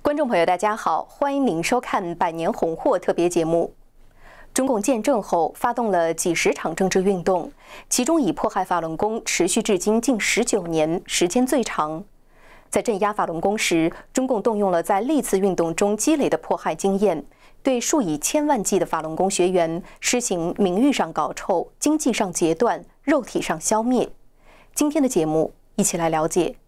观众朋友，大家好，欢迎您收看《百年红货》特别节目。中共建政后，发动了几十场政治运动，其中以迫害法轮功持续至今近19年，时间最长。在镇压法轮功时，中共动用了在历次运动中积累的迫害经验，对数以千万计的法轮功学员施行名誉上搞臭、经济上截断、肉体上消灭。今天的节目，一起来了解。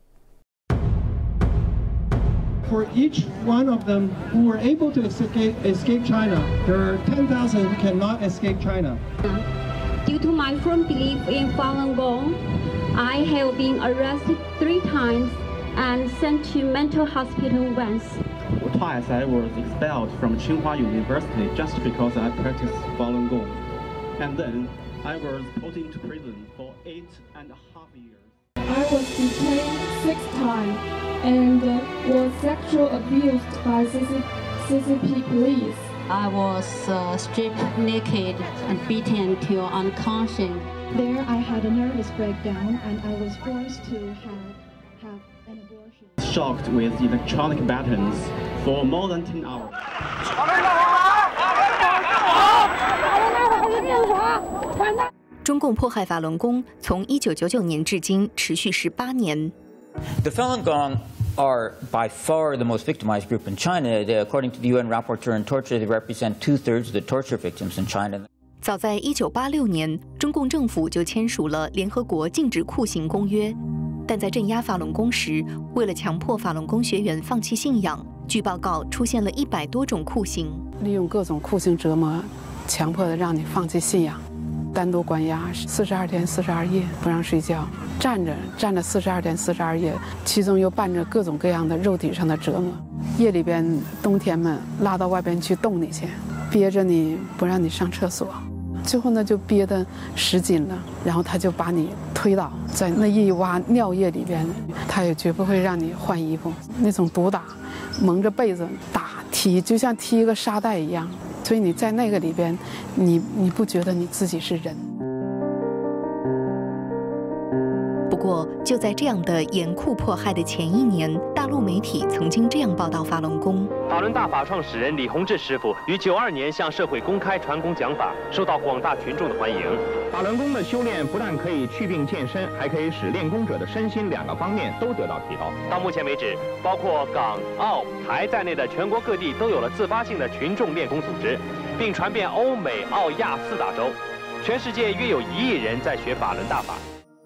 For each one of them who were able to escape China, there are 10,000 who cannot escape China. Due to my firm belief in Falun Gong, I have been arrested 3 times and sent to mental hospital once. Twice I was expelled from Tsinghua University just because I practiced Falun Gong. And then I was put into prison for 8.5 years. I was detained 6 times and was sexually abused by CCP police. I was stripped naked and beaten until unconscious. There I had a nervous breakdown and I was forced to have an abortion. Shocked with electronic batons for more than 10 hours. 中共迫害法轮功从1999年至今持续18年。 The Falun Gong are by far the most victimized group in China. According to the UN Rapporteur on Torture, they represent 2/3 of the torture victims in China. 早在1986年，中共政府就签署了联合国禁止酷刑公约，但在镇压法轮功时，为了强迫法轮功学员放弃信仰，据报告出现了100多种酷刑， 利用各种酷刑折磨，强迫的让你放弃信仰。 单独关押42天42夜，不让睡觉，站着42天42夜，其中又伴着各种各样的肉体上的折磨。夜里边，冬天们拉到外边去冻你去，憋着你不让你上厕所，最后呢就憋得10斤了，然后他就把你推倒在那一洼尿液里边，他也绝不会让你换衣服，那种毒打，蒙着被子打踢，就像踢一个沙袋一样。 所以你在那个里边，你不觉得你自己是人？ 不过，就在这样的严酷迫害的前1年，大陆媒体曾经这样报道法轮功： 法轮大法创始人李洪志师傅于92年向社会公开传功讲法，受到广大群众的欢迎。 法轮功的修炼不但可以祛病健身，还可以使练功者的身心2个方面都得到提高。 到目前为止，包括港、澳、台在内的全国各地都有了自发性的群众练功组织，并传遍欧美、澳、亚4大洲。全世界约有1亿人在学法轮大法。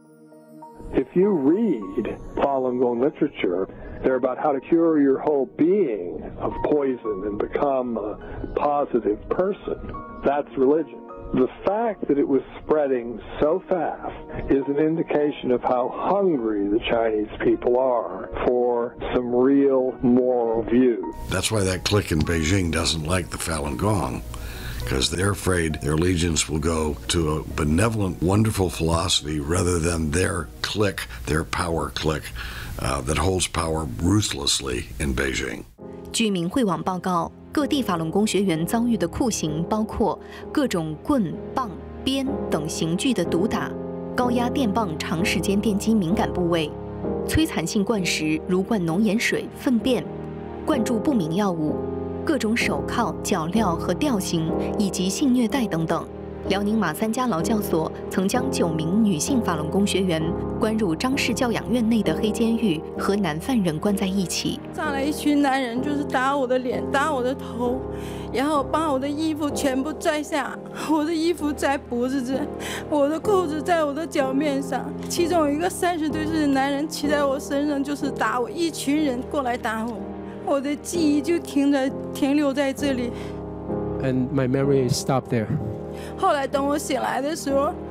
If you read Falun Gong literature, they're about how to cure your whole being of poison and become a positive person. That's religion. The fact that it was spreading so fast is an indication of how hungry the Chinese people are for some real moral view. That's why that clique in Beijing doesn't like the Falun Gong. Because they're afraid their allegiance will go to a benevolent, wonderful philosophy rather than their clique, their power clique, that holds power ruthlessly in Beijing. 据明慧网报告，各地法轮功学员遭遇的酷刑包括各种棍、棒、鞭等刑具的毒打，高压电棒长时间电击敏感部位，摧残性灌食如灌浓盐水、粪便，灌注不明药物。 各种手铐、脚镣和吊刑，以及性虐待等等。辽宁马三家劳教所曾将9名女性法轮功学员关入张氏教养院内的黑监狱，和男犯人关在一起。 上来一群男人，就是打我的脸、打我的头，然后把我的衣服全部拽下，我的衣服在脖子这，我的裤子在我的脚面上。其中有一个30多岁的男人骑在我身上，就是打我，一群人过来打我。 我的记忆就停留在这里。 And my memory stopped there. 后来等我醒来的时候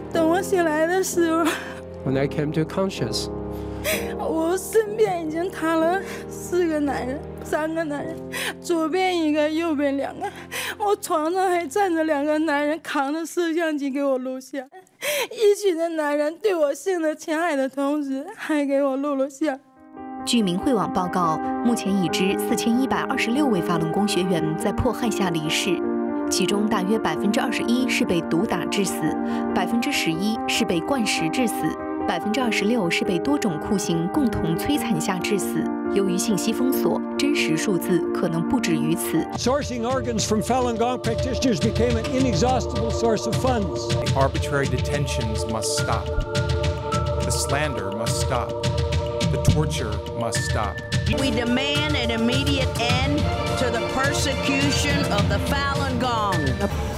，When I came to conscious, 我身边已经躺了4个男人，3个男人，左边1个，右边2个。我床上还站着2个男人，扛着摄像机给我录像。一群的男人对我性的侵害的同时，还给我录了像。 据明慧网报告，目前已知4126位法轮功学员在迫害下离世，其中大约21%是被毒打致死，11%是被灌食致死，26%是被多种酷刑共同摧残下致死。 由于信息封锁，真实数字可能不止于此。 Sourcing organs from Falun Gong practitioners became an inexhaustible source of funds. Arbitrary detentions must stop. The slander must stop. The torture must stop. We demand an immediate end to the persecution of the Falun Gong.